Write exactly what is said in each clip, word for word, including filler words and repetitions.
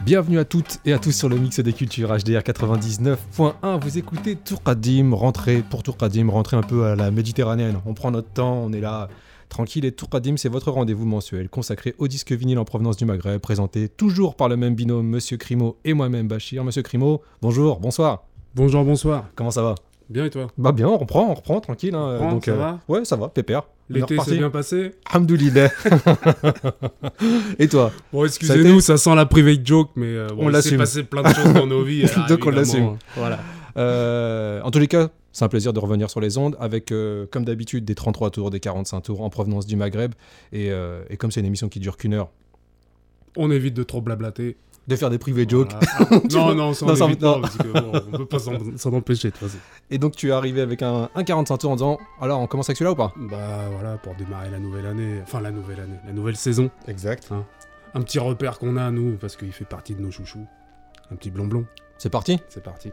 Bienvenue à toutes et à tous sur le Mix des Cultures H D R quatre-vingt-dix-neuf point un. Vous écoutez Tourkadim, rentrez pour Tourkadim, rentrez un peu à la méditerranéenne. On prend notre temps, on est là tranquille et Tourkadim, c'est votre rendez-vous mensuel consacré au disque vinyle en provenance du Maghreb, présenté toujours par le même binôme, Monsieur Crimo et moi-même Bachir. Monsieur Crimo, bonjour, bonsoir. Bonjour, bonsoir. Comment ça va? Bien et toi? Bah bien, on reprend, on reprend, tranquille. Hein. On reprend, Donc, ça euh, va? Ouais, ça va, pépère. L'été s'est bien passé? Alhamdoulilah. Et toi? Bon, excusez-nous, ça, été... ça sent la private joke, mais euh, bon, on il s'est passé plein de choses dans nos vies. Alors, donc on l'assume. Voilà. Euh, en tous les cas, c'est un plaisir de revenir sur les ondes avec, euh, comme d'habitude, des trente-trois tours, des quarante-cinq tours en provenance du Maghreb. Et, euh, et comme c'est une émission qui dure qu'une heure, on évite de trop blablater. De faire des private jokes. Voilà. Ah, non, non, ça on non, évite non. pas, parce que bon, on peut pas s'en, s'en empêcher de toute façon. Et donc tu es arrivé avec un, un quarante-cinq tours en disant, alors on commence avec celui-là ou pas? Bah voilà, pour démarrer la nouvelle année, enfin la nouvelle année, la nouvelle saison. Exact. Hein. Un petit repère qu'on a, nous, parce qu'il fait partie de nos chouchous. Un petit blond-blond. C'est parti? C'est parti.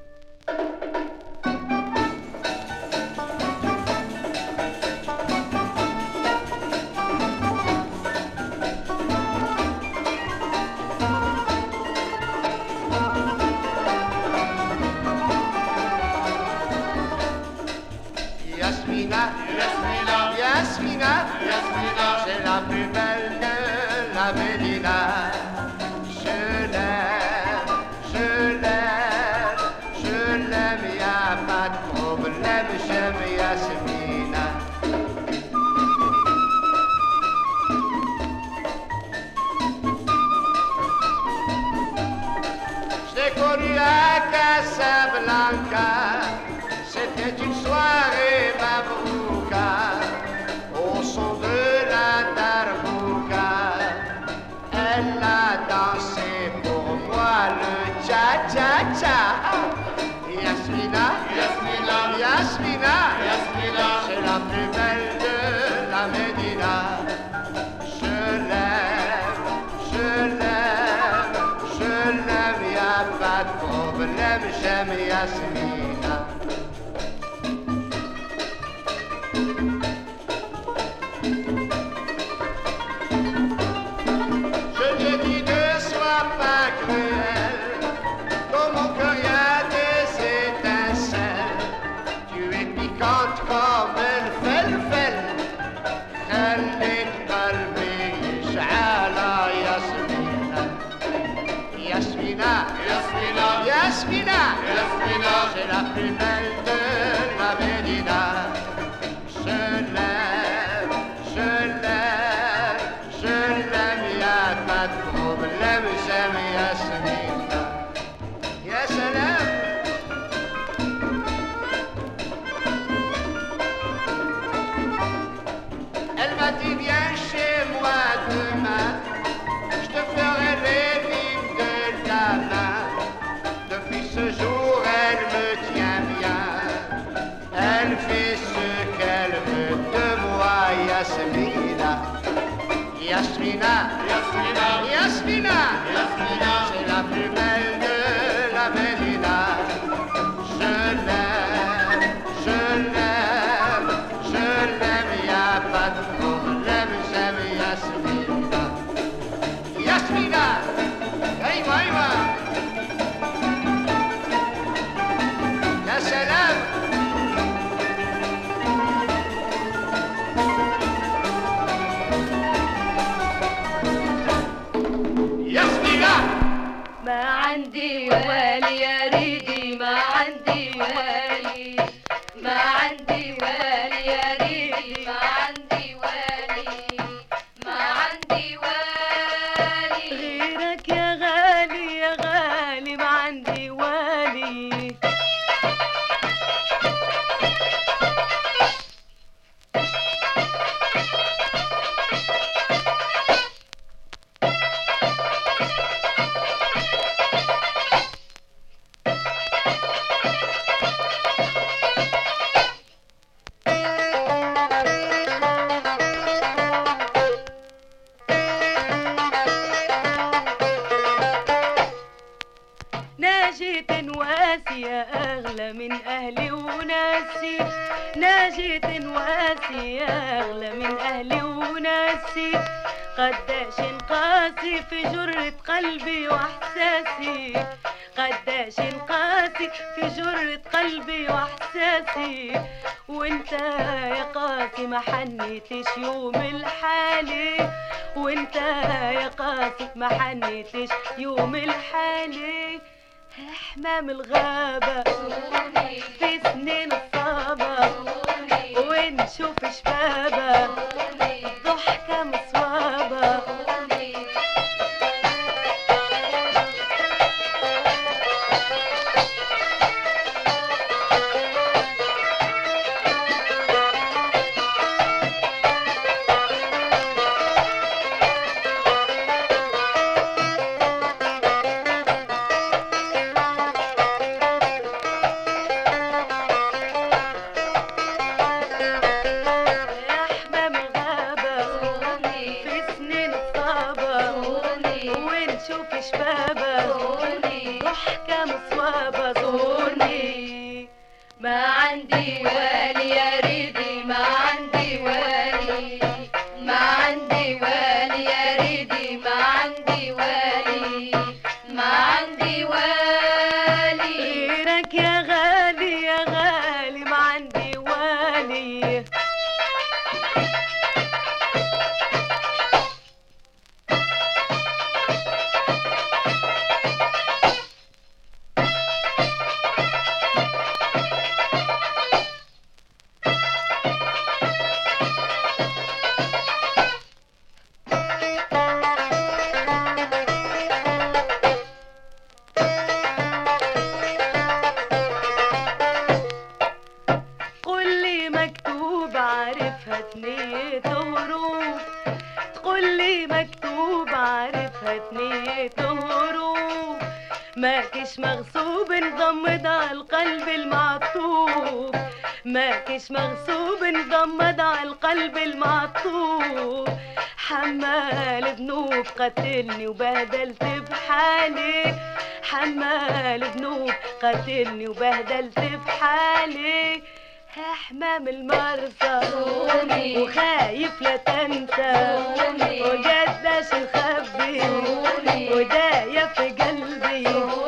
C'était une soirée mabrouka au son de la darbouka. Elle a dansé pour moi le cha-cha-cha. Yasmina, Yasmina, Yasmina, Yasmina, c'est la plus belle de la Médina. Je l'aime, je l'aime, je l'aime, y'a pas de problème, j'aime Yasmina. Yasmina, c'est la plus belle de la Médina. Je l'aime, je l'aime, je l'aime, y'a pas de problème, j'aime Yasmina. Ya salam. Elle m'a dit viens chez moi demain, je te ferai les rimes de ta main. Depuis ce jour, elle me tient bien. Elle fait ce qu'elle veut de moi, Yasmina. Yasmina, Yasmina, Yasmina, Yasmina, c'est la plus belle de la Médina. Je l'aime, je l'aime, je l'aime, y'a pas de problème, j'aime Yasmina. Yasmina, aïwa, aïwa. ما عندي والي يا ريدي ما عندي والي ما عندي والي يا ريدي ما عندي والي ما عندي والي غيرك يا غالي يا غالي ما عندي والي أغلى من أهلي وناسي ناجية واسي أغلى من أهلي وناسي قداش قاسي في جرة قلبي واحساسي، قداش قاسي في جرة قلبي واحساسي، وانت يا قاسي ما حنيتش يوم الحالي، وانت يا قاسي ما حنيتش يوم الحالي. حمام الغابة في سنين الصابة ونشوف شبابة ضحكة مصوابة. ماكش مغصوب نضمد على القلب المعطوب، ماكش مغصوب نضمد على القلب المعطوب. حمال ذنوب قتلني وبهدلت بحالي، حمال ذنوب قتلني وبهدلت بحالي. حمام المرسى وخايف لا تنسى وقداش نخبي ودايا في قلبي.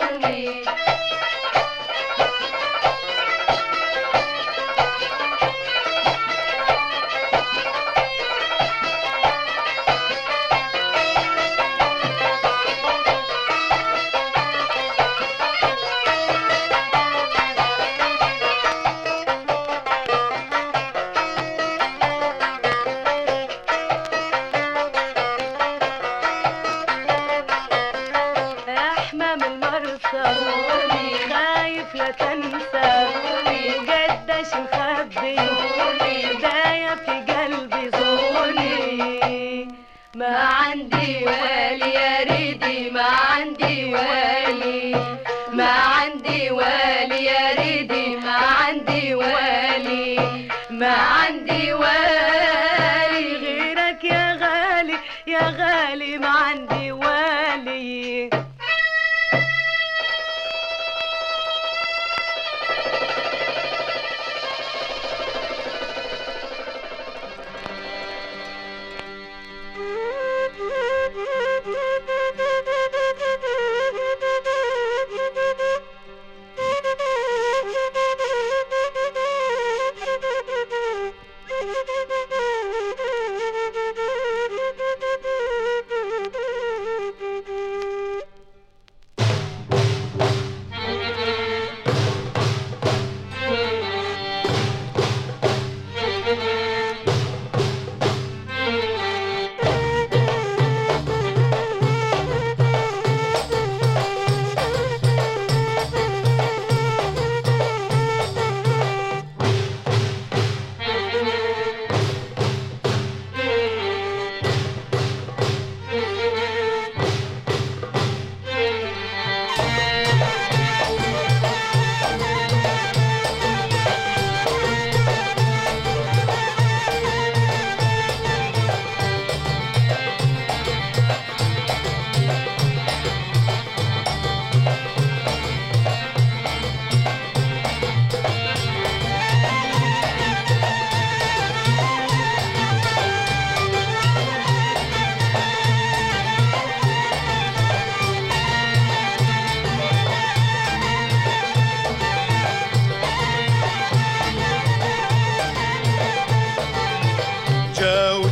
خايف لا تنسى وقداش نخبي دايا في قلبي. زوري ما عندي والي يا ريدي، ما عندي والي، ما عندي والي يا ريدي، ما عندي والي، ما عندي والي غيرك يا غالي يا غالي، ما عندي والي.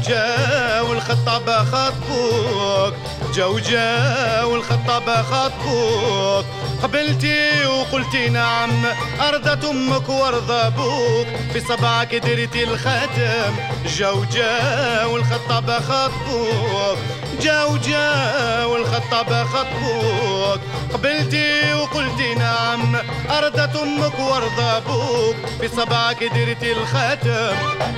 جاو الخطابة خطبوك جاو جاو الخطابة خطبوك قبلتي وقلتي نعم أرضت أمك وارضى أبوك في صبعك درتي الخاتم جاو جاو الخطابة خطبوك جاو جاو الخطابة خطبوك قبلتي وقلتي نعم أرضت أمك وارضى أبوك في صبعك درتي الخاتم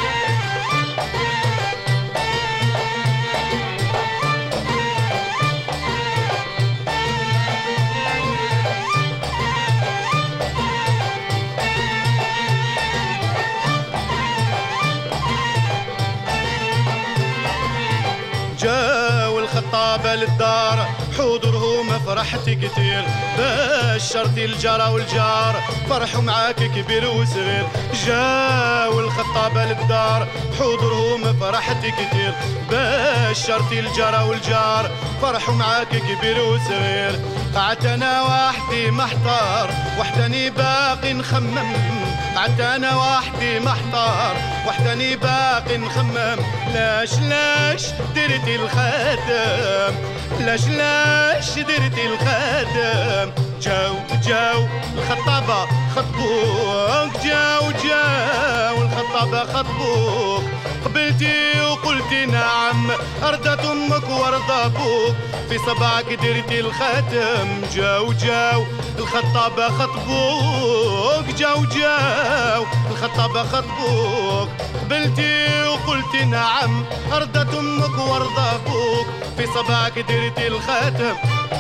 جاو الخطابة للدار حضورهم فرحتي كتير بشرتي الجارة والجار فرحوا معاك كبير وصغير جاو الخطابة للدار حضورهم فرحتي كتير بشرتي الجارة والجار فرحوا معاك كبير وصغير قعدت انا وحدي محتار وحدني باقي نخمم قعدت انا وحدي محتار وحدني باقي نخمم لاش لاش درتي الخاتم لاش لاش درتي الخاتم جاو جاو الخطابة خطبوك جاو جاو الخطابة خطبوك قبلتي وقلتي نعم أرضت أمك وارضى أبوك في صبعك درتي الخاتم جاو جاو الخطابة خطبوك جاو جاو الخطابة خطبوك قبلتي وقلتي نعم أرضت أمك وارضى أبوك في صبعك درتي الخاتم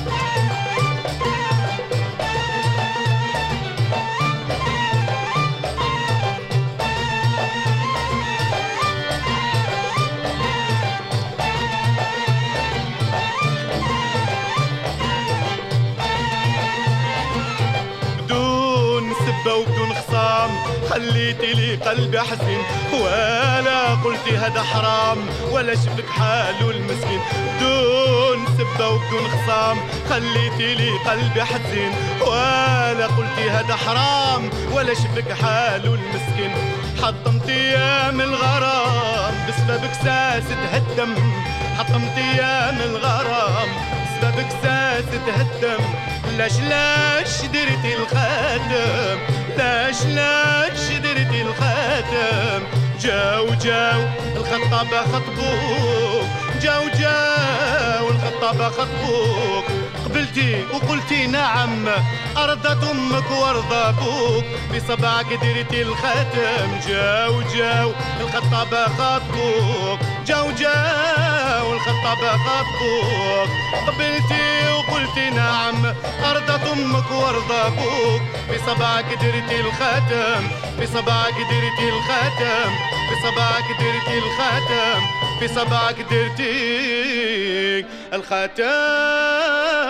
وبدون خصام خليتي لي قلبي حزين ولا قلتي هذا حرام ولا شفك حاله المسكين بدون سبة وبدون خصام خليتي لي قلبي حزين ولا قلتي هذا حرام ولا شفك حاله المسكين حطمت ايام الغرام بسببك ساس تهدم حطمت ايام الغرام بسببك ساس تهدم لاش لاش درتي الخاتم لاش لاش درتي الخاتم جاو جاو الخطابة خطبوك جاو جاو الخطابة خطبوك قبلتي وقلتي نعم أرضت أمك وارضى أبوك بصبعك درتي الخاتم جاو جاو الخطابة خطبوك جاو جاو الخطابة خطبوك قبلتي وقلتي نعم أرضت أمك وارضى أبوك بصبعك درتي الخاتم بصبعك درتي الخاتم بصبعك درتي الخاتم بصبعك درتي الخاتم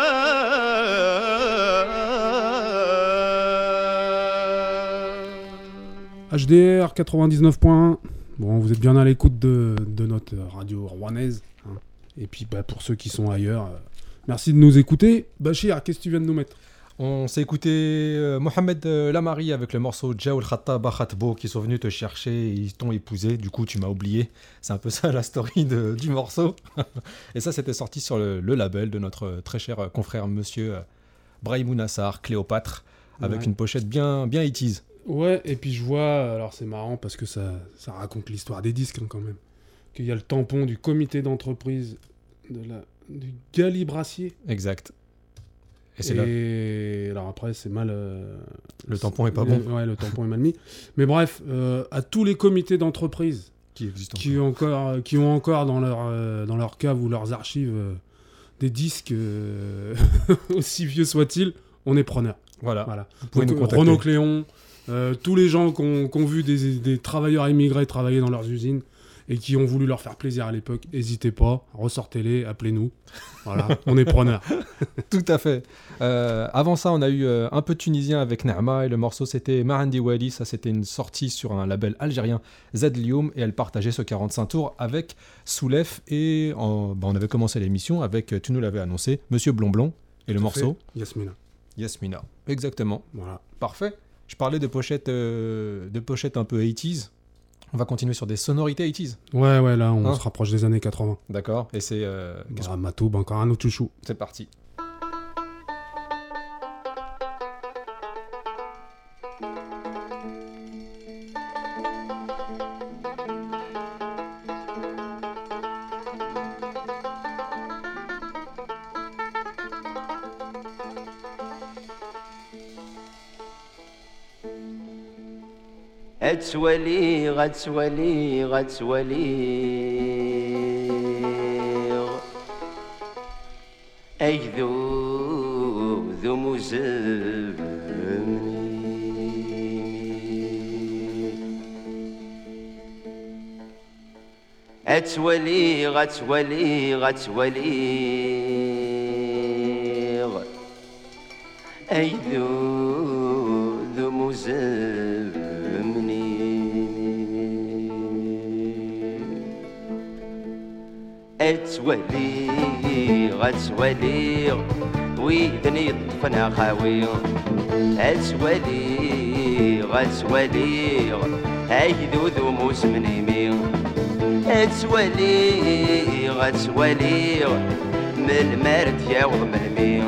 H D R quatre-vingt-dix-neuf point un. Bon, vous êtes bien à l'écoute de, de notre radio rouennaise. Hein. Et puis, bah, pour ceux qui sont ailleurs, euh, merci de nous écouter. Bachir, qu'est-ce que tu viens de nous mettre ? On s'est écouté euh, Mohamed euh, Lamari avec le morceau Jaoul Khattaba Khatbo qui sont venus te chercher et ils t'ont épousé. Du coup, tu m'as oublié. C'est un peu ça la story de, du morceau. Et ça, c'était sorti sur le, le label de notre très cher confrère monsieur euh, Brahimou Nassar, Cléopâtre, avec ouais. une pochette bien, bien eighties. Ouais, et puis je vois, alors c'est marrant parce que ça, ça raconte l'histoire des disques hein, quand même, qu'il y a le tampon du comité d'entreprise de la, du Gali Brassier. Exact. Et, c'est et là. alors après c'est mal... Euh, le tampon est pas le, bon. Ouais, le tampon est mal mis. Mais bref, euh, à tous les comités d'entreprise qui, existent qui, ont encore, qui ont encore dans leur, euh, dans leur cave ou leurs archives euh, des disques, euh, aussi vieux soient-ils, on est preneurs. Voilà. voilà. Vous pouvez Donc, nous contacter. Renaud Cléon, euh, tous les gens qui ont, qui ont vu des, des travailleurs immigrés travailler dans leurs usines et qui ont voulu leur faire plaisir à l'époque, n'hésitez pas, ressortez-les, appelez-nous. Voilà, on est preneurs. Tout à fait. Euh, avant ça, on a eu euh, un peu de tunisien avec Nerma et le morceau c'était Mahandi Wali. Ça, c'était une sortie sur un label algérien, Zedlium, et elle partageait ce quarante-cinq tours avec Soulef. Et en, bah, on avait commencé l'émission avec, tu nous l'avais annoncé, Monsieur Blonblon et le Tout morceau fait. Yasmina. Yasmina. Exactement. Voilà. Parfait. Je parlais de pochettes, euh, de pochettes un peu eighties. On va continuer sur des sonorités eighties. Ouais, ouais, là, on Hein se rapproche des années quatre-vingts. D'accord. Et c'est... euh, qu'est-ce Bah, Matoub, encore un autre chouchou. C'est parti. أتولي غتولي غتولي أيذو ذو مزمني أتولي غتولي غتولي أيذو ذو مزمني أتولي غتولي ويدني طفنا خاوي أتولي غتولي أيذو ذو مسمنيمي أتولي غتولي من المرد يا وضمنمي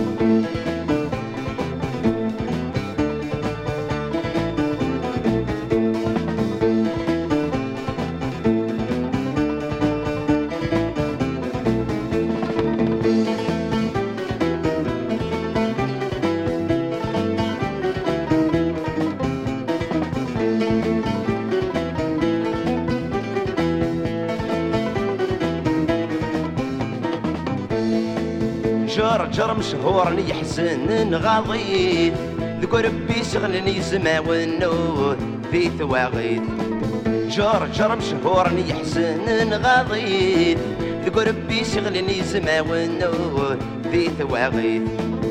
جرجر مشهور يحسن غضيث ذكو ربي شغلني زماونو في ثواغيث جرجر مشهور يحسن غضيث ذكو ربي شغلني زماونو في ثواغيث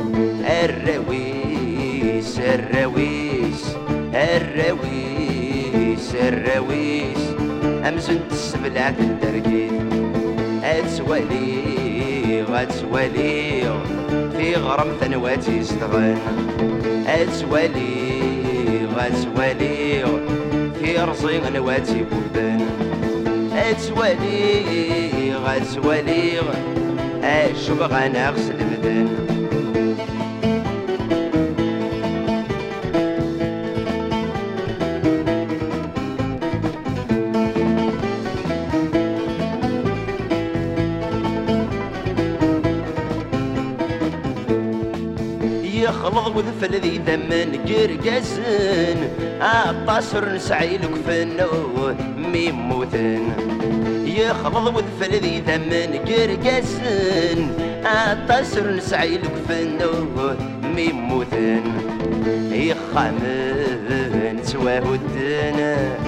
الرويس الرويس الرويس الرويس أمزن السبلات الدرقيث أتولي غتولي في غرم ثنواتي استغن أتولي غتولي في رصي نواتي بوبان أتولي غتولي أشوف غانا غسل مدن يخلط وذفل ذي ثمن قرقسن عطاسر نسعيلك فنو ميموثن يخلط وذفل ذي ثمن قرقسن عطاسر نسعيلك فنو ميموثن يخامن سواهدن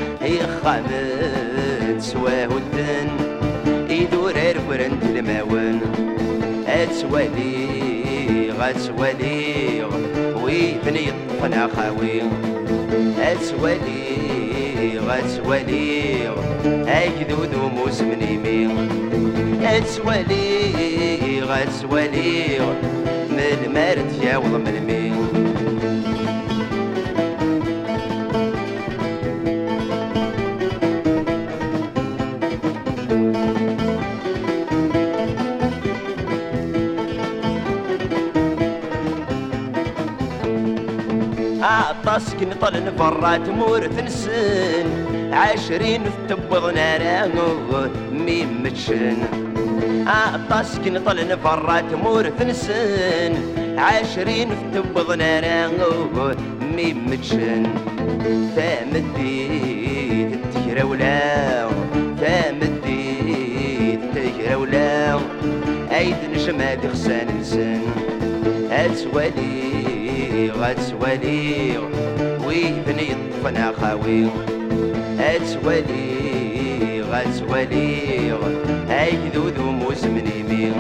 يخامن سواهدن يدور ورنت الماون أتولي غتولي ويثني طفنا خاوي أتولي غتولي أكذو ذو مسمنيمي أتولي غتولي من المرد يا وضمنمي عطاسك نطل نفرات مورث نسن عشرين تبض نارانو ميم متشن عطاسك نطل نفرات مورث نسن عشرين تبض نارانو ميم متشن ثامديت التجرى ولا ثامديت التجرى ولا عيد نجمع دخسان لسان أتولي غتولي ويبني طفنا خاوي أتولي غتولي أيذو ذو مسمنيمي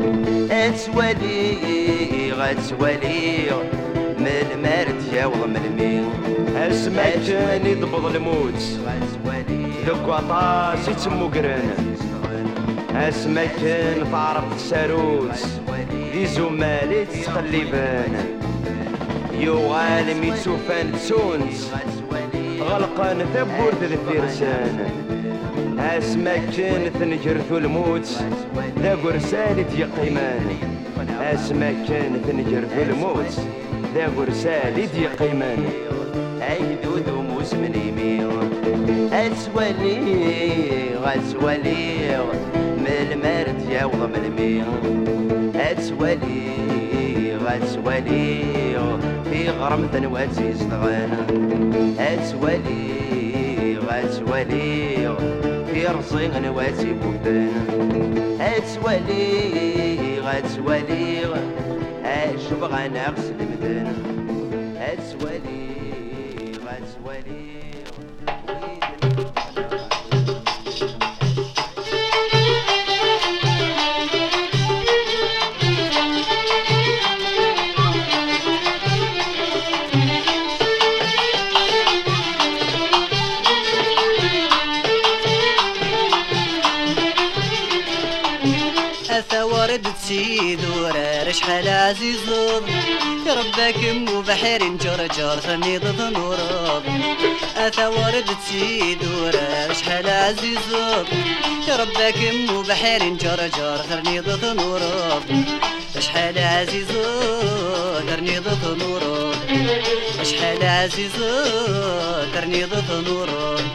أتولي غتولي من المرد يا وضمنمي اسمك كان يضبط الموت ذوك عطاس يتسمو قرن اسمك كان تعرف تساروت ذي زمالي تتقلبان يو عالم يتسوفان تسونس غلقان ثبورت الفرسان اسما كانت نجرث الموت ذا قرسالة يقيمان اسما كانت نجرث الموت ذا قرسالة يقيمان عيدود وموس من يمين اسوالي غاسوالي من المرد ياوض من المين اسوالي غاسوالي في غرمة نواتي صدغانا اسوالي غاسوالي في رصين نواتي بوبانا اسوالي غاسوالي اشوف غانا غسل مدانا اسوالي غاسوالي سيد ورار شحال عزيز يا ربك مو بحر جرجر ثني ضد نوراب اثا ورد سيد ورار شحال عزيز يا ربك مو بحر جرجر ثني ضد نوراب شحال عزيز ترني ضد نوراب شحال عزيز ترني ضد نوراب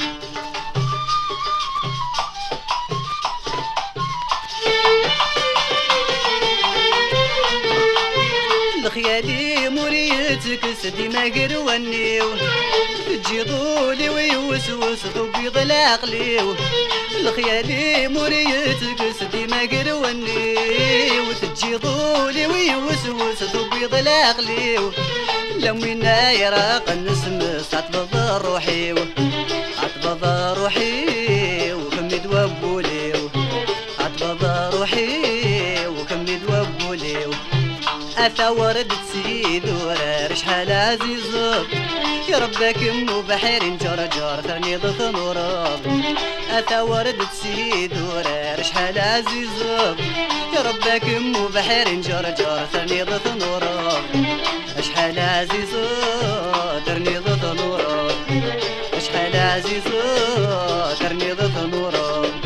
خيالي مريتك سدي ما قروانيو تجي ضولي ويوسوس طبيض العقليو الخيالي مريتك سدي ما قروانيو تجي ضولي ويوسوس طبيض العقليو لمينا يراق النسمس عطبض روحي عطبض روحي وكمد وبوليو عطبض روحي وكمد وبوليو أثا ورد تسيد ورار شحال عزيز يا ربك مو بحر جرجر ثاني ضد نوراب أثا ورد تسيد ورار شحال عزيز يا ربك مو بحر جرجر ثاني ضد نوراب شحال عزيز ترني ضد نوراب شحال عزيز ترني ضد نوراب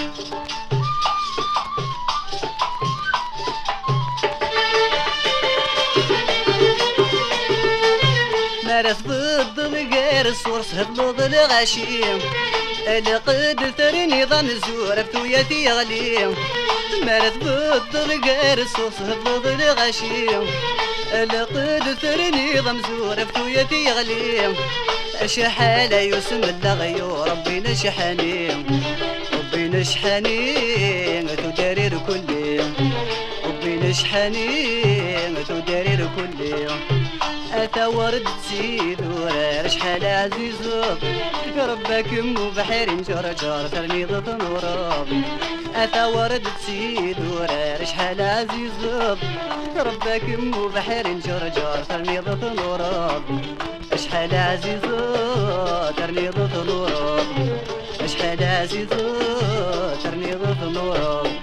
مارس ضد الغير الصورس هبلوض الغشيم اللي قد ثرني ظن الزور بتويتي يغليم مارس ضد الغير الصورس هبلوض الغشيم اللي قد ثرني ظن زور بتويتي يغليم شحال يسم اللغيو ربي نشحني ربي نشحني تدارير كل يوم ربي نشحني تدارير كل يوم أتا ورد تسيد ورار شحال عزيز يا ربك مو بحر جرجر ثرني ضد نوراب أتا ورد تسيد ورار شحال عزيز يا ربك مو بحر جرجر ثرني ضد نوراب شحال عزيز ترني ضد نوراب شحال عزيز ترني ضد نوراب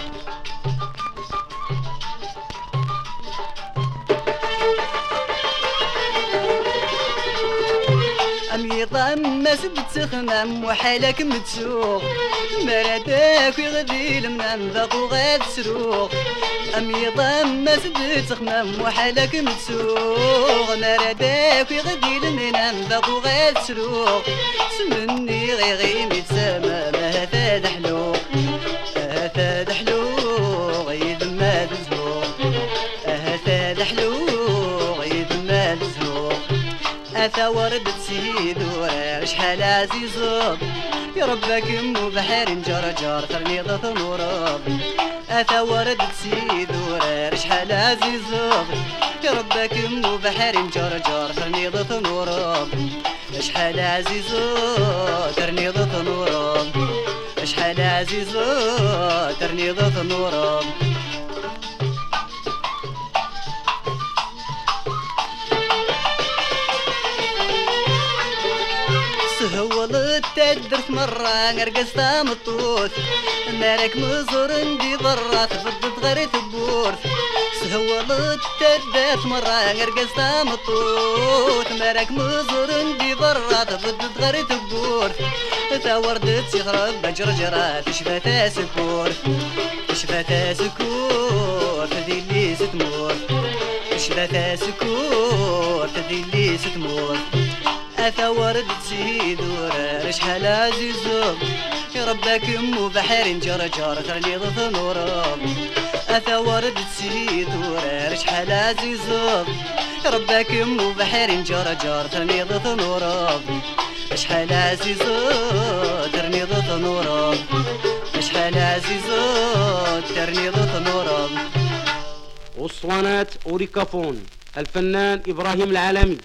أمي ضم سد تخمم وحالك متسوق مراداك يغذي المنام ذاق وغاد سروق أمي ضم سد تخمم وحالك متسوق مراداك يغذي المنام ذاق وغاد سروق سمني غيغي متسامى ما هذا دحلوق هذا دحلوق يذم ما دزوق هذا دحلوق يذم ما دزوق أثا ورد تسيد ورار شحال عزيز يا ربك مو بحر جرجر ثرني ضد نوراب أثا ورد تسيد ورار شحال عزيز يا ربك مو بحر جرجر ثرني ضد نوراب شحال عزيز ترني ضد نوراب شحال عزيز ترني ضد نوراب سهولت تدرت مرة نرقص مطوث مالك مزور ندي ضرة تفضت غير تبورث سهولت تدرت مرة نرقص مطوث مالك مزور ندي ضرة تفضت غير تبورث تا وردت يخرب بجرجرة تشفى سكور تشفى سكور تدي اللي ستمور تشفى سكور تدي اللي ستمور أثا ورد تزيد ورا شحال عزيزو يا ربك مو بحر جرجر ترني ضث نورا أثا ورد تزيد ورا شحال عزيزو يا ربك مو بحر جرجر ترني ضث نورا شحال عزيزو ترني ضث نورا شحال عزيزو ترني ضث نورا. أسطوانات أوريكافون الفنان إبراهيم العالمي.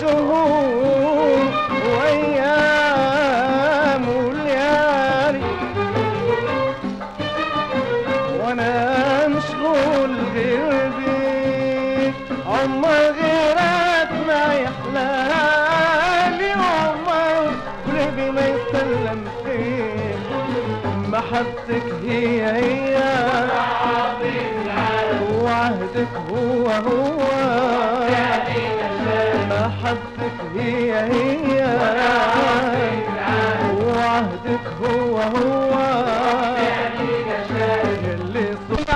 شهور وأيام وليالي وأنا مشغول غير بيك عمر غيرك ما يحلالي عمر قلبي ما يسلم فيك محبتك هي هي وعهدك هو هو محبتك هي هي وعهدك هو هو اللي صوت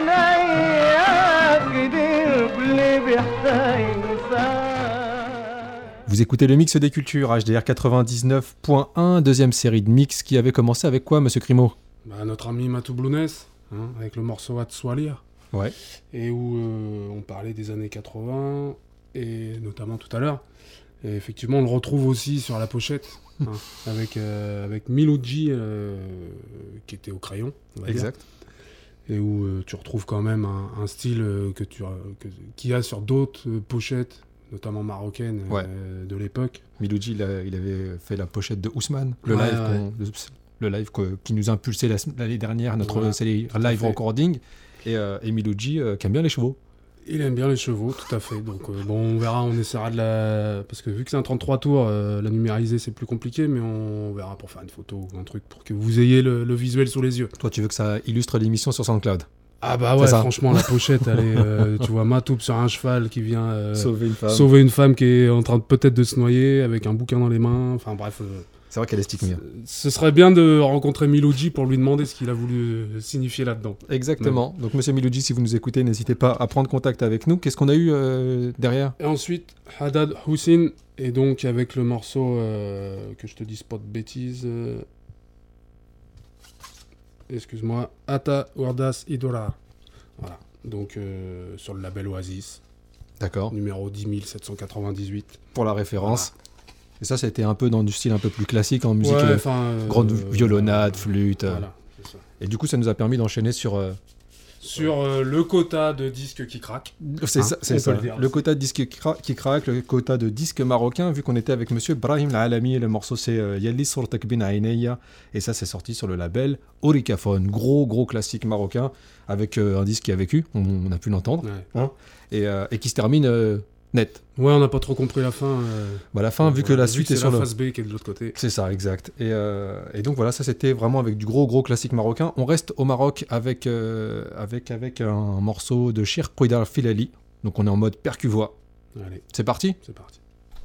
عينيك كتير كل بيحتاج إنسان. Vous écoutez le mix des cultures, H D R quatre-vingt-dix-neuf point un, deuxième série de mix qui avait commencé avec quoi, monsieur Crimo? Bah, notre ami Matou Blounès, hein, avec le morceau Atswalir. Ouais. Et où euh, on parlait des années quatre-vingts, et notamment tout à l'heure. Et effectivement, on le retrouve aussi sur la pochette, hein, avec, euh, avec Milouji, euh, qui était au crayon, on va Exact. dire. Et où euh, tu retrouves quand même un, un style euh, que tu, que, qu'il y a sur d'autres euh, pochettes, notamment marocaines, Ouais. euh, de l'époque. Milouji, il, a- il avait fait la pochette de Ousmane, le Ouais, live, ouais. qu'on- le, le live que- qui nous a impulsé la sem- l'année dernière, notre Voilà, série tout à live fait. recording. Et, euh, et Milouji, euh, qui aime bien les chevaux. Il aime bien les chevaux, tout à fait. Donc euh, bon, on verra, on essaiera de la... Parce que vu que c'est un trente-trois tours, euh, la numériser c'est plus compliqué, mais on verra pour faire une photo ou un truc pour que vous ayez le, le visuel sous les yeux. Toi, tu veux que ça illustre l'émission sur SoundCloud? Ah bah C'est ouais, ça. franchement, la pochette, elle est... euh, tu vois Matoub sur un cheval qui vient euh, Sauver une femme. sauver une femme qui est en train de peut-être de se noyer avec un bouquin dans les mains. Enfin bref, euh, C'est vrai qu'elle est stick bien. ce serait bien de rencontrer Milouji pour lui demander ce qu'il a voulu euh, signifier là-dedans. Exactement. Donc, monsieur Milouji, si vous nous écoutez, n'hésitez pas à prendre contact avec nous. Qu'est-ce qu'on a eu euh, derrière? Et ensuite, Haddad Hussein, et donc avec le morceau, euh, que je te dise pas de bêtises, euh, excuse-moi, Ata Wardas Idora. Voilà, donc euh, sur le label Oasis, D'accord. numéro dix mille sept cent quatre-vingt-dix-huit. Pour la référence. Et ça, c'était un peu dans du style un peu plus classique en musique. Ouais, euh, enfin, euh, grande euh, violonade, flûte. euh. Voilà, c'est ça. Et du coup, ça nous a permis d'enchaîner sur. euh, Sur euh, le quota de disques qui craquent. C'est Hein, ça, on c'est peut ça. le dire. Le quota de disques qui, cra- qui craque, le quota de disques marocains, vu qu'on était avec monsieur Brahim Al-Alami, le morceau c'est euh, Yalli Surtak Bin Aineya, et ça c'est sorti sur le label Orikaphone, gros gros classique marocain, avec euh, un disque qui a vécu, on, on a pu l'entendre, Ouais. hein, et, euh, et qui se termine euh, net. Ouais, on n'a pas trop compris la fin. euh, Bah, la fin, vu que voilà, la suite est c'est sur la le... face B qui est de l'autre côté. C'est ça, exact. Et, euh, et donc voilà, ça c'était vraiment avec du gros gros classique marocain. On reste au Maroc avec, euh, avec, avec un morceau de Shir Kouidar Filali, donc on est en mode percu-voix. Allez, C'est parti. c'est parti.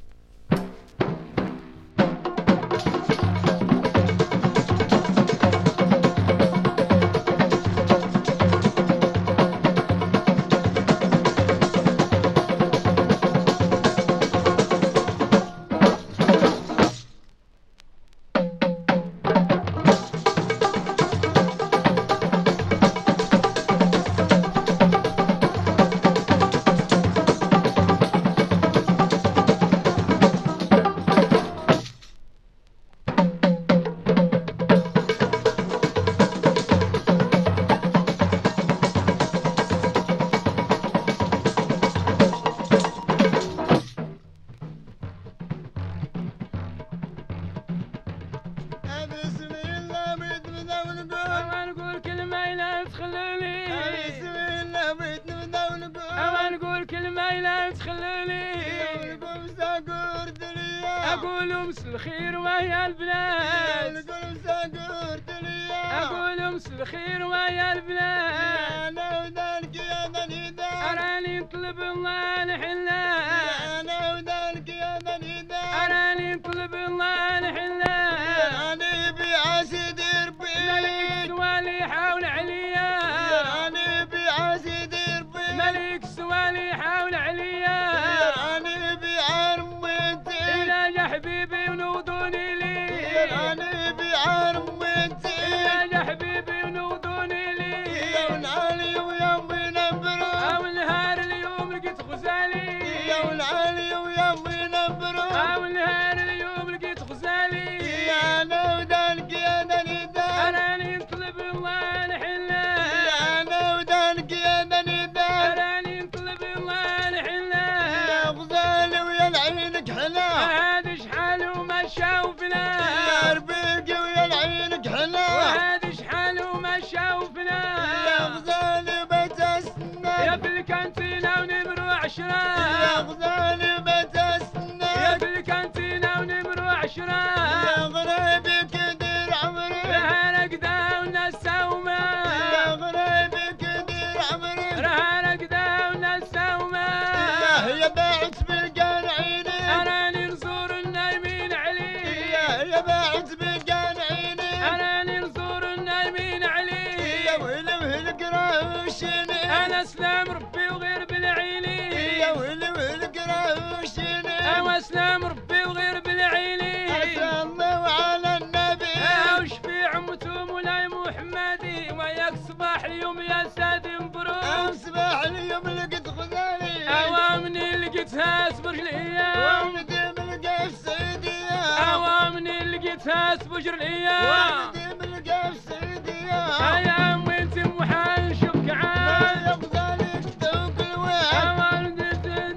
بسم الله بيت نبدا ونقول أما نقول كلمة لا تخلوني بسم الله بيت نبدا ونقول أما نقول كلمة لا تخلوني نقول مساكور دنيا أقول أمس الخير ويا البنات نقول مساكور دنيا أقول أمس الخير ويا البنات انا ودانك يا دنيدا أراني نطلب الله الحلا انا ودانك يا دنيدا أراني نطلب الله الحلا انا بعاسي دير ملك بيت سوالي حول عليا انا بعاسي دير بيت ملك سوالي حول عليا انا بعرمتي إلا يا حبيبي ونوضوني لي انا بعرمتي إلا يا حبيبي ونوضوني لي يا ونعلي ويا نبرو أو نهار اليوم لقيت غزالي يا ونعلي ويا نبرو أو نهار اليوم لقيت غزالي يا انا ودانك يا دنيدا أراني نطلب الله الحلا يا انا ودانك يا دنيدا أراني نطلب الله الحلا يا غزالي ويا العينك حلا عشرة يا غزالي متى سنك يا في الكانتينة ونمرو عشرة يا غريبي كدير عمري راه رقدة وناس سومة يا غريبي كدير عمري راه رقدة وناس سومة يا باعت بالقانعيني أراني نزور النايمين عليه يا باعت بالقانعيني أراني نزور النايمين عليه يا ويلي ويلي قراوشيني أنا سلام ربي وغير بالعيني يا ويلي ويلي قراوشيني أنا سلام ربي وغير بالعيني عسى الله وعلى النبي وش في عمته مولاي محمدي وياك صباح اليوم يا سادي مبروك صباح اليوم لقيت غزالي أوامني لقيتها سبجر الأيام ونديم لقى في سيدية أوامني لقيتها سبجر الأيام ونديم لقى في سيدية أيام وانت محال نشوفك عاد يا غزالي كدوك الواد أوامني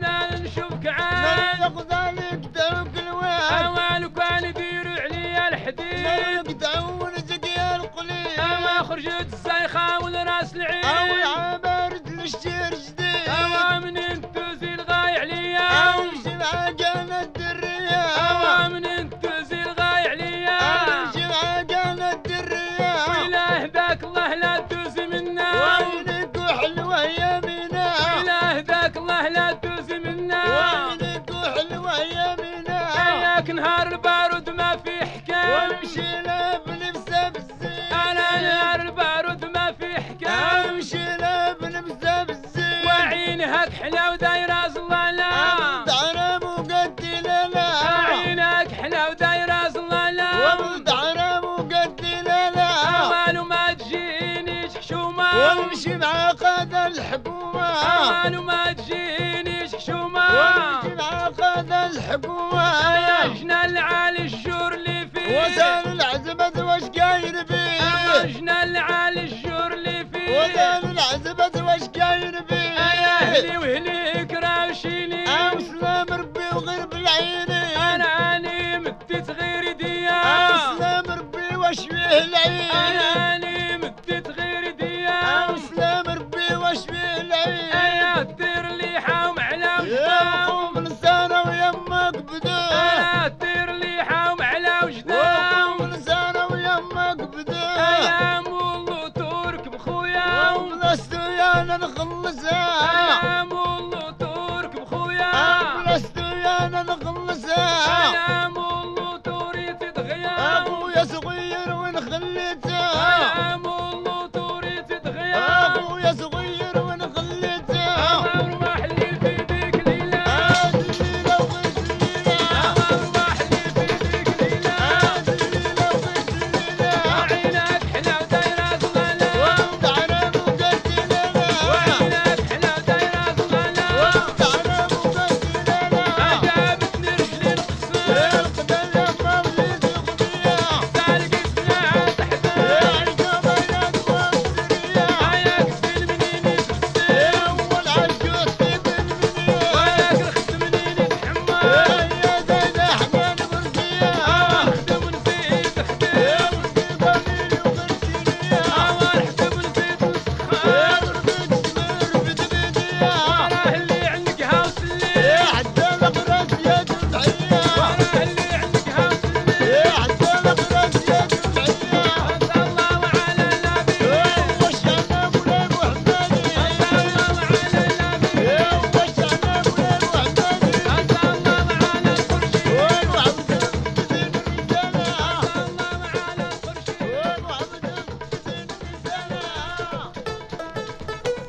نشوفك يا عاد غزالي كدوك الواد أوامني كان يديروا عليا الحديد يقطعون زقيا القليل أما خرجت الزايخة والراس أو العين العبارد للشير جديد أوامن انتوزي الغاي عليا أمشي معاقنا الدرية أوامن انتوزي الغاي عليا أمشي معاقنا الدرية وإله ذاك الله لا تدوزي منا وينك وحلوة يمينة وإله ذاك الله لا تدوزي منا وينك وحلوة يمينة إياك نهار البارود ما في حكام وامشي لا بلبسة بالزين أنا نهار البارود ما في حكام امشي لا بلبسة بالزين وعينك حلا ودايرة زلالا دعنا مقدلة لا عينك حلا ودايرة زلالا ودعنا مقدلة لا أمال ما تجينيش حشومة وامشي مع قاد الحكومة أمال ما تجينيش حشومة وامشي مع قاد الحكومة يا جنان العالي الجور اللي فيه وسال العزبة واش قاير بيه يا جنان العالي الجور اللي فيه وسال العزبة واش قاير بيه يا أهلي وهليك راوشيني أم سلام ربي وغير بالعيني أنا أني مديت غير يديا أم سلام ربي واش فيه العين أنا أني مديت غير يديا أم سلام ربي واش فيه العين يا دير اللي حاوم على يا وجدان قوم لسانة ويمك بدا يا دير اللي حاوم على وجدان وقوم لسانة ويمك بدا يا مولو ترك بخويا وبلستو يا أنا نخلصها يا مولو ترك بخويا بلستو يا أنا نخلصها يا مولو توريتي دغيا أخويا صغير وين خليته يا مولو توريتي دغيا أخويا صغير وين خليته أروح لي في ديك ليلة هاد الليلة وغيت الليلة أروح لي في ديك ليلة هاد الليلة وغيت الليلة عينك حلا ودايرة زغالة ودعنا مقدلة وعينك حلا ودايرة زغالة ودعنا مقدلة عجبتني رجلي نقصر القدر ما وليت القضية سالك سلاعة تحتها العجبة يا دوام عياك سلمنيني تبسم أول عجوز في بالمنية وياك رخت منيني تحمى يا زيد أحمد برقية أخدم نزيد أخدم قليل وغرسينية ورحتم نزيد نسخان ربيت سمير بدبيدية وراه اللي عندك هاوس الليل حتى الأغراس يا جمعية وراه اللي عندك هاوس الليل حتى الأغراس يا جمعية عسى الله وعلى النبي وشعنا مولاي محمدي عسى الله وعلى النبي وشعنا مولاي محمدي عسى الله وعلى الفرشي وعبد الدين الرسالة عسى الله وعلى الفرشي وعبد الدين الرسالة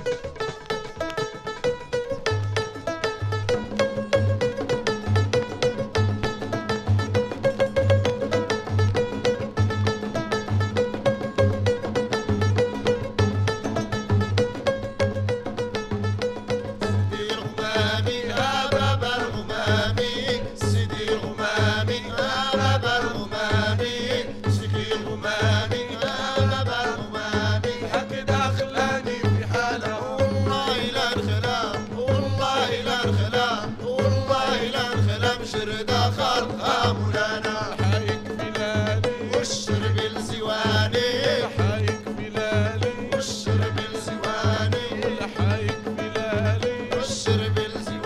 سيدي الغمامي يا بابا الغمامي سيدي الغمامي يا بابا الغمامي سيدي الغمامي يا بابا الغمامي هكذا خلاني في حالة والله لا الخلام والله لا الخلام والله لا الخلام شردة خلقها مولانا حايك بلالي والشرب الزواني حايك بلالي والشرب الزواني حايك بلالي والشرب الزواني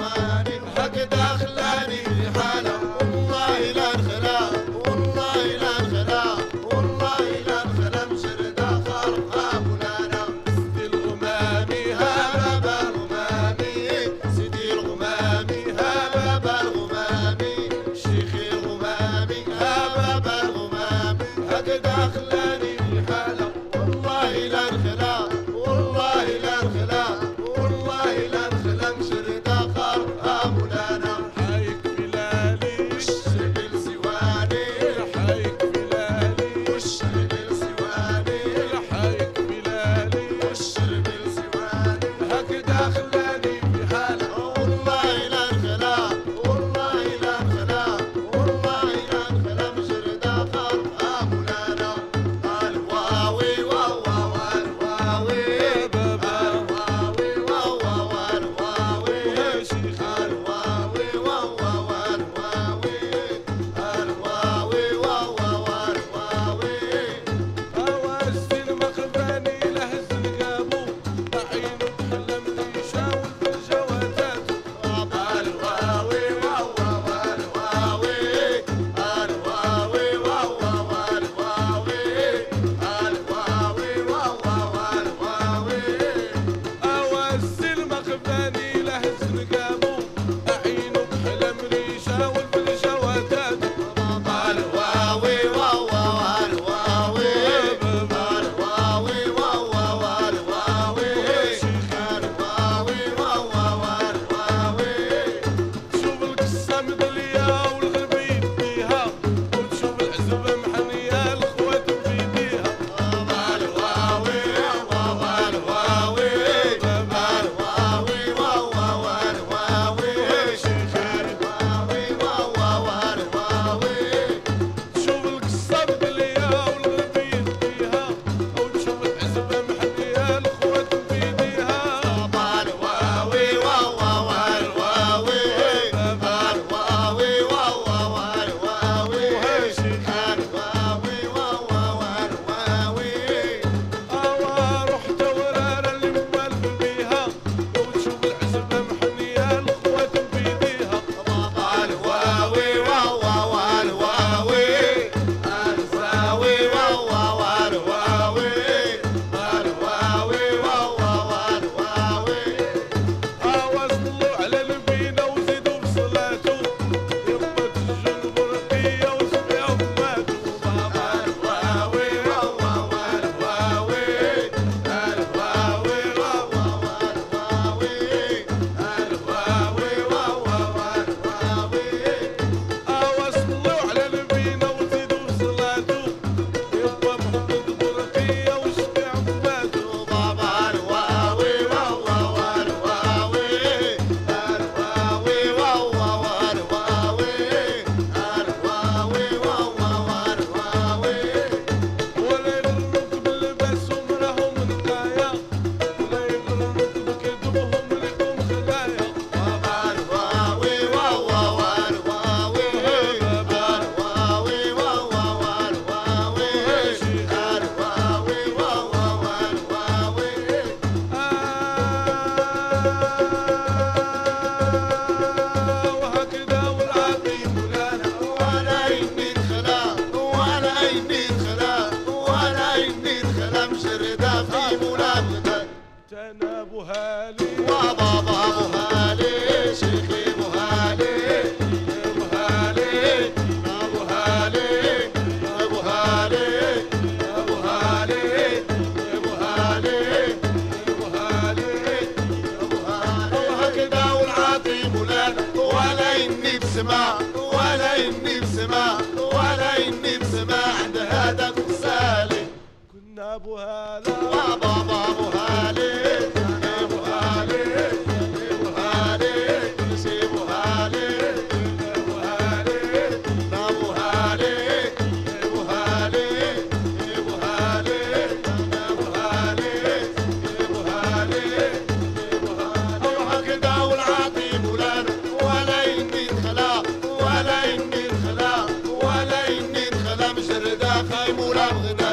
بسمع ولا إني بسمع ولا إني بسمع عند هذا السالي كنا أبو هالي بابا أبو هالي أبو هالي أبو هالي كل شي أبو هالي أبو هالي أبو هالي أبو هالي أبو هالي أبو هالي أبو هالي أروح كدا والعاطي مولانا ولا إني انخلا ولا إني انخلا ولا إني انخلا مجردة خاي مولا بغدا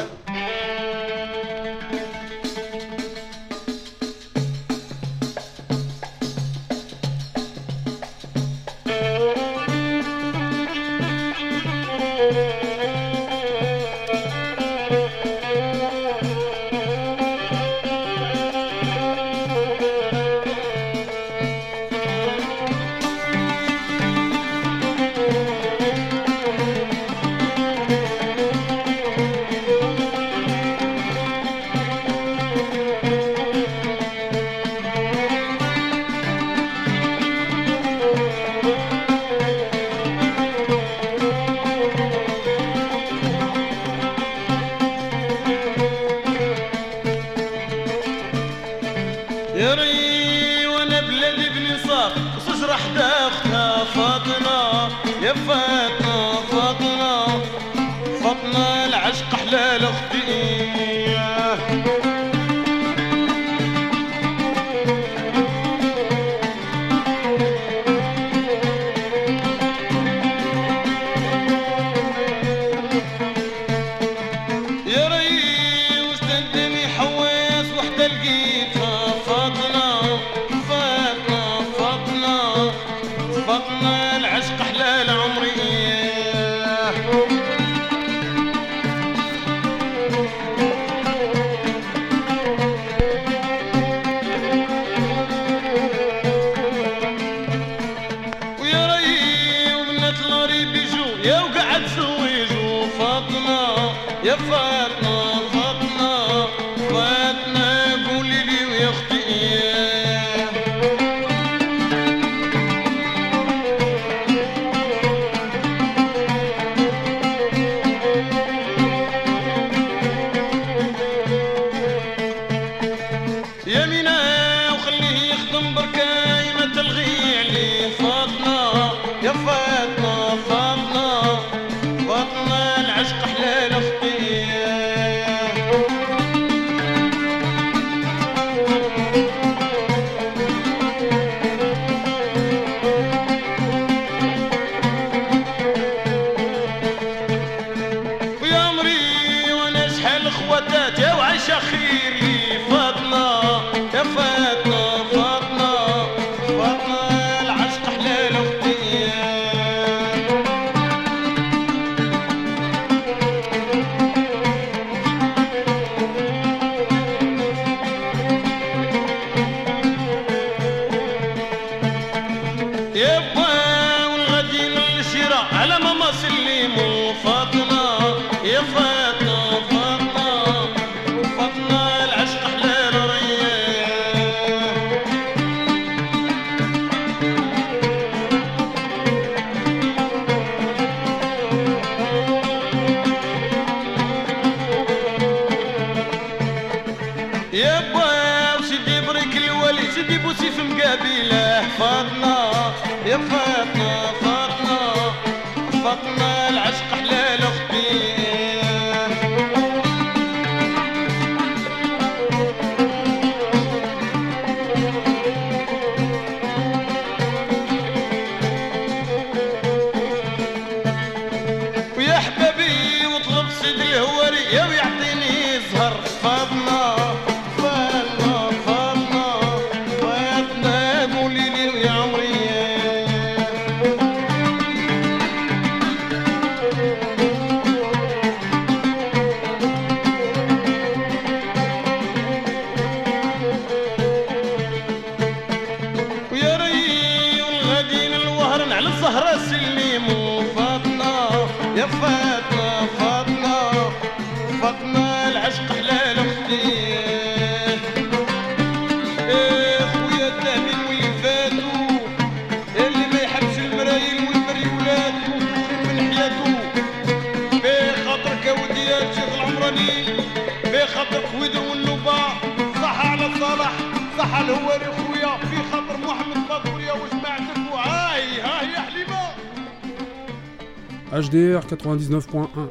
يا ري وانا بلادي بنصار وصجرة حدا اختها فاطمة يا فاطمة فاطمة فاطمة العشق حلال اختي يا ري وش تندمي حواس وحدة لقيتها فاطمة فاطمة فاطمة فاطمة العشق حلال عمري ويا ري وبنات لاري بيجو يا وقعد زويجو فاطمة يا فاطمة فاطمة فاطمة قولي لي ويا اختي يا مينا وخليه يخدم بركاي ما تلغي عليه فاطمة يا فاطمة فاطمة فاطمة العشق حلال اختي ويا عمري وانا شحال اخواتات يا وعايشة خير لي فاطمة يا فاطمة فاطمة فاطمة العشق حلال اختي يا با والغادي للشراء على ماما سلموا فاطمة يا فاطمة فاطمة فاطمة العشق حلال ريان يا با وسيدي بريك الولي سيدي بوسيف مقابله فاطمة يا فاطمة فاطمة فاطمة العشق حلال اختي ويا حبابي واطلب سيد الهواري يا ويعطيني زهر فاطمة فاطمة فاطمة فاطمة قولي لي ويا عمري قال هو لي خويا في خاطر محمد فاطوريا وجماعتك وهاي هاي يا حليمه. H D R quatre-vingt-dix-neuf point un.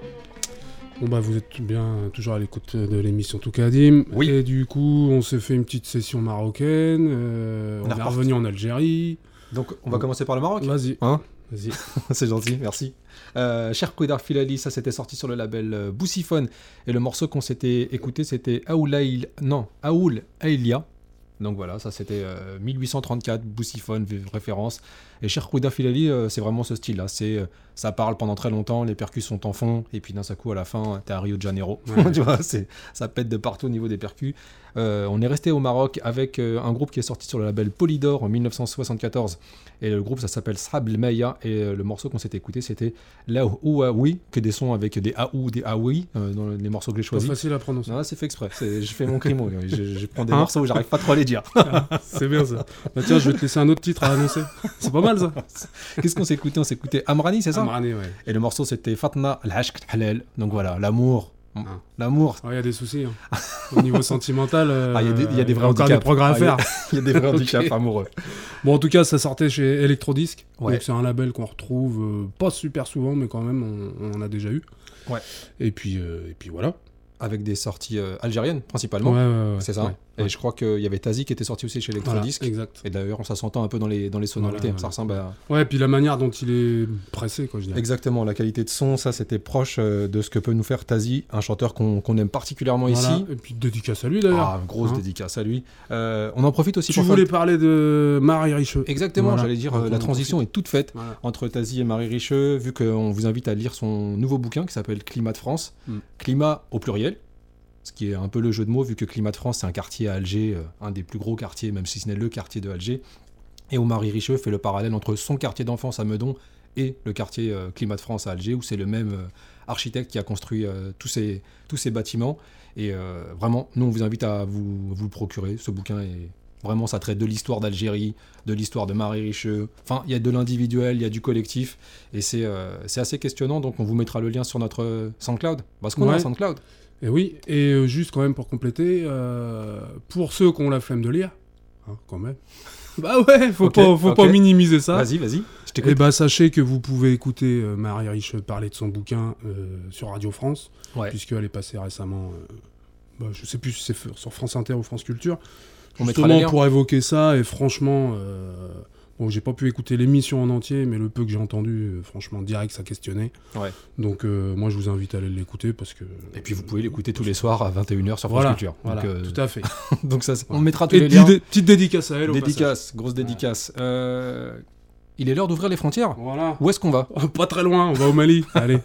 Bon bah vous êtes bien toujours à l'écoute de l'émission Toukadim. Oui. Et du coup on s'est fait une petite session marocaine. Euh, on, on est reparti. Revenu en Algérie. Donc on va bon. commencer par le Maroc. Vas-y. Hein Vas-y. C'est gentil, merci. Euh, Cher Kouedar Filali, ça c'était sorti sur le label euh, Boussiphone. Et le morceau qu'on s'était écouté c'était Aoulaïl... Non, Aoul Aïlia. Donc voilà, ça c'était euh, mille huit cent trente-quatre, Boussiphone, référence. Et Cher Kouedar Filali, euh, c'est vraiment ce style-là. C'est, euh, ça parle pendant très longtemps, les percus sont en fond, et puis d'un seul coup à la fin, t'es à Rio de Janeiro. Ouais. Tu vois, c'est, ça pète de partout au niveau des percus. Euh, on est resté au Maroc avec euh, un groupe qui est sorti sur le label Polydor en dix-neuf cent soixante-quatorze. Et le groupe, ça s'appelle Srab El Maya. Et euh, le morceau qu'on s'était écouté, c'était La Ouaoui, que des sons avec des Aou, des Aoui, euh, dans les morceaux que j'ai choisis. C'est facile à prononcer. Non, c'est fait exprès. C'est, je fais mon crimo. je, je prends des hein morceaux où j'arrive pas trop à les dire. C'est bien ça. Bah, tiens, je vais te laisser un autre titre à annoncer. C'est pas mal ça. Qu'est-ce qu'on s'est écouté On s'est écouté Amrani, c'est ça Amrani, ouais. Et le morceau, c'était Fatna Al-Hashk Halal. Donc voilà, l'amour. Ah. L'amour. Il ouais, y a des soucis. Hein. Au niveau sentimental, euh, ah, y a des, y a des vrais encore des progrès à ah, faire. Il y, y a des vrais handicaps okay. amoureux. Bon, en tout cas, ça sortait chez Electrodisc. Ouais. Donc c'est un label qu'on retrouve euh, pas super souvent, mais quand même, on, on en a déjà eu. Ouais. Et puis, euh, et puis voilà. Avec des sorties euh, algériennes, principalement. Ouais, ouais, ouais, c'est ça. Ouais. Et ouais. je crois qu'il y avait Tazi qui était sorti aussi chez Electrodisc. Voilà, exact. Et d'ailleurs, ça s'entend un peu dans les, dans les sonorités. Voilà, ça voilà. ressemble à... Ouais, et puis la manière dont il est pressé, quoi, je dirais. Exactement. La qualité de son, ça, c'était proche euh, de ce que peut nous faire Tazi, un chanteur qu'on, qu'on aime particulièrement voilà. ici. Et puis dédicace à lui, d'ailleurs. Ah, grosse hein dédicace à lui. Euh, on en profite aussi tu pour... Tu voulais faire... parler de Marie Richeux. Exactement. Voilà. J'allais dire, euh, la transition est toute faite voilà. entre Tazi et Marie Richeux, vu qu'on vous invite à lire son nouveau bouquin qui s'appelle Climat de France. Mm. Climat au pluriel. Ce qui est un peu le jeu de mots, vu que Climat de France, c'est un quartier à Alger, euh, un des plus gros quartiers, même si ce n'est le quartier de Alger. Et où Marie Richeux fait le parallèle entre son quartier d'enfance à Meudon et le quartier euh, Climat de France à Alger, où c'est le même euh, architecte qui a construit euh, tous, ces, tous ces bâtiments. Et euh, vraiment, nous, on vous invite à vous, vous le procurer. Ce bouquin est... Vraiment, ça traite de l'histoire d'Algérie, de l'histoire de Marie Richeux. Enfin, il y a de l'individuel, il y a du collectif. Et c'est, euh, c'est assez questionnant. Donc, on vous mettra le lien sur notre SoundCloud. Parce qu'on ouais. a un SoundCloud. Et oui, et euh, juste quand même pour compléter, euh, pour ceux qui ont la flemme de lire, hein, quand même, bah ouais, faut, okay, pas, faut okay. pas minimiser ça. Vas-y, vas-y, je t'écoute. Et bah sachez que vous pouvez écouter euh, Marie Richeux parler de son bouquin euh, sur Radio France, ouais. puisqu'elle est passée récemment, euh, bah, je sais plus si c'est sur France Inter ou France Culture, on justement pour évoquer ça, et franchement... Euh, Bon, j'ai pas pu écouter l'émission en entier, mais le peu que j'ai entendu, euh, franchement, direct, ça questionnait. Ouais. Donc, euh, moi, je vous invite à aller l'écouter parce que. Et puis, vous pouvez l'écouter tous les soirs à vingt et une heures sur France voilà, Culture. Voilà, Donc, euh... tout à fait. Donc, ça, on ouais. mettra tous et les liens. Dé- petite dédicace à elle. Dédicace, grosse dédicace. Ouais. Euh... Il est l'heure d'ouvrir les frontières. Voilà. Où est-ce qu'on va ? Pas très loin, on va au Mali. Allez.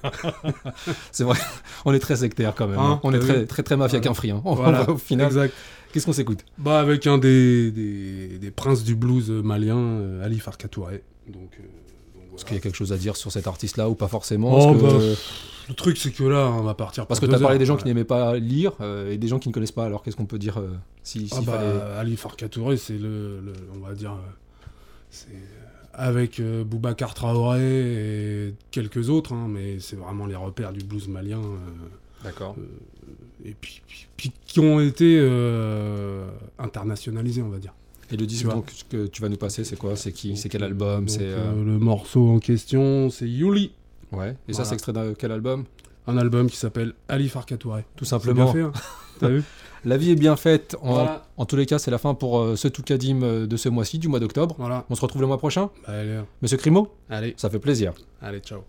C'est vrai, on est très sectaire quand même. Hein, hein. On est très, très, très, très mafia voilà. qu'un free. Hein. Voilà. Au final. Exact. Qu'est-ce qu'on s'écoute ? Bah avec un des, des, des princes du blues malien, euh, Ali Farka Touré. Donc, euh, donc voilà. Est-ce qu'il y a quelque chose à dire sur cet artiste-là ou pas forcément ? Oh, que... bah, le truc c'est que là on va partir. Parce que tu as parlé des gens ouais. qui n'aimaient pas lire euh, et des gens qui ne connaissent pas. Alors qu'est-ce qu'on peut dire euh, si, ah s'il bah, fallait... Ali Farka Touré, c'est le, le, on va dire, c'est avec euh, Boubacar Traoré et quelques autres, hein, mais c'est vraiment les repères du blues malien. Euh, D'accord. Euh, et puis, puis, puis qui ont été euh, internationalisés, on va dire. Et le disque donc, que tu vas nous passer, c'est quoi ? C'est qui ? C'est quel album ? donc, c'est euh... Euh, le morceau en question, c'est Yuli. Ouais. Et voilà. ça, c'est extrait de quel album ? Un album qui s'appelle Ali Farka Touré. Tout simplement. C'est bien fait, hein. T'as vu ? La vie est bien faite. En, voilà. en tous les cas, c'est la fin pour euh, ce Toukadim euh, de ce mois-ci, du mois d'octobre. Voilà. On se retrouve le mois prochain. Bah, allez. Monsieur Crimo ? Allez. Ça fait plaisir. Allez, ciao.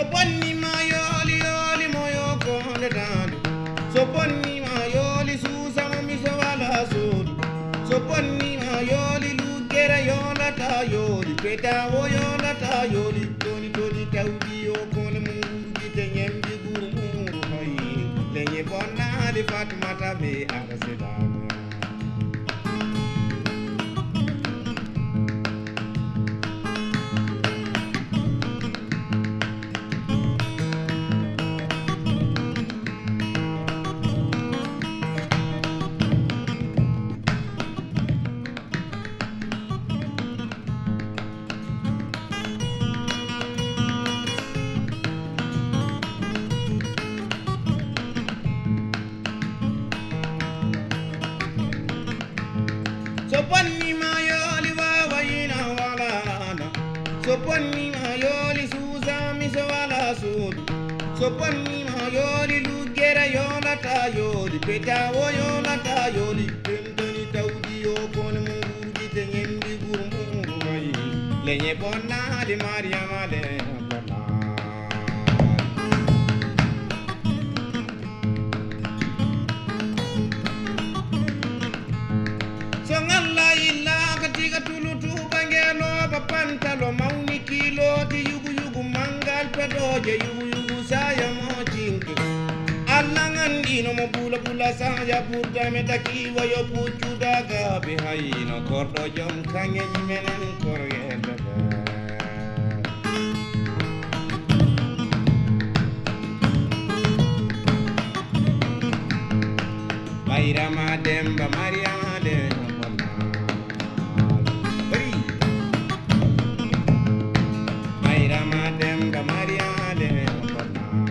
bonni ma yoli yoli moyo konde dande. So bonni ma yoli susa mo mi so wala sudu. So bonni ma yoli lugera yona ta yoli peta wo yona ta yoli toni toni tawdi yo kono mungu te nyembi guru mungu mai lenye bonna de Fatmata be akasedama. So bonni ma yoli wawa yina wala nana. So bonni ma yoli suza mi so wala sudu. So bonni ma yoli lugera yona ta yoli peta wo yona ta yoli tentoni tawdi yo kono mungu gite nyembi guru mungu mai lenye bonna di Mariama le bonna. So ngalla illa katika tulutu bangelo papantalo mauni kilo ti yugu yugu mangal pedoje yugu yugu saya mo jinki. Alla ngandino mo bula bula saya burda metakiwa yo pucu daga behaino kordo jom kange jimenen korgenda. Mairama demba Mariama demba Bari Mairama demba Mariama demba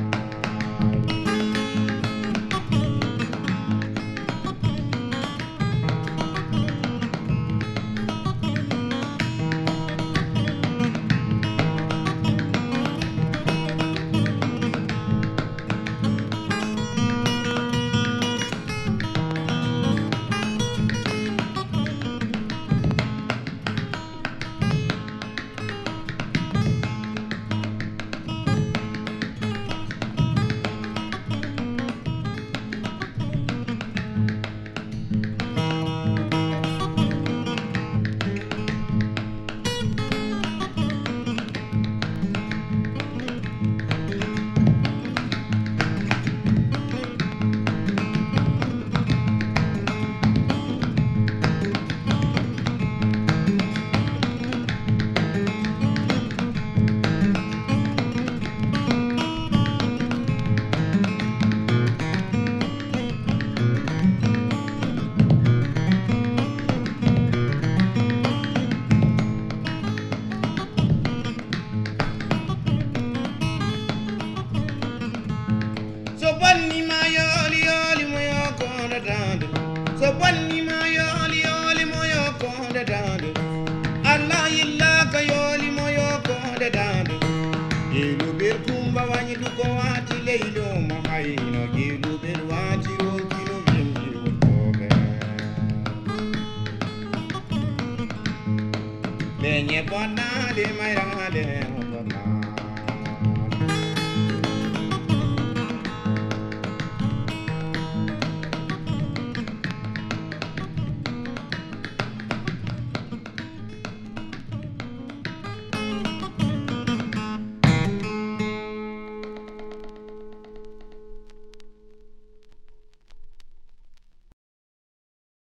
So bonni ma yoli yoli moyo konde dande. So bonni ma yoli yoli moyo konde dande. Allah illa ka yoli moyo konde dande. Gilu bir kumba wanyi duko wati leilo mo hayno gilu bir wati ro kilo bimbi utobe. Lenye bonna de Mairama de